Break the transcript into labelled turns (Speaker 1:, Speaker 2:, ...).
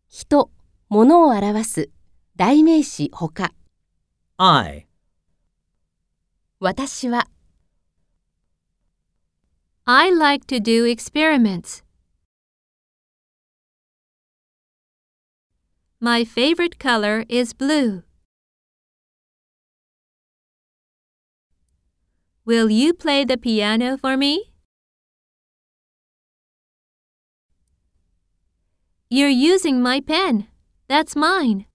Speaker 1: 人、物を表す代名詞ほか。
Speaker 2: I,
Speaker 1: 私は
Speaker 3: I like to do experiments. My favorite color is blue. Will you play the piano for me? You're using my pen. That's mine.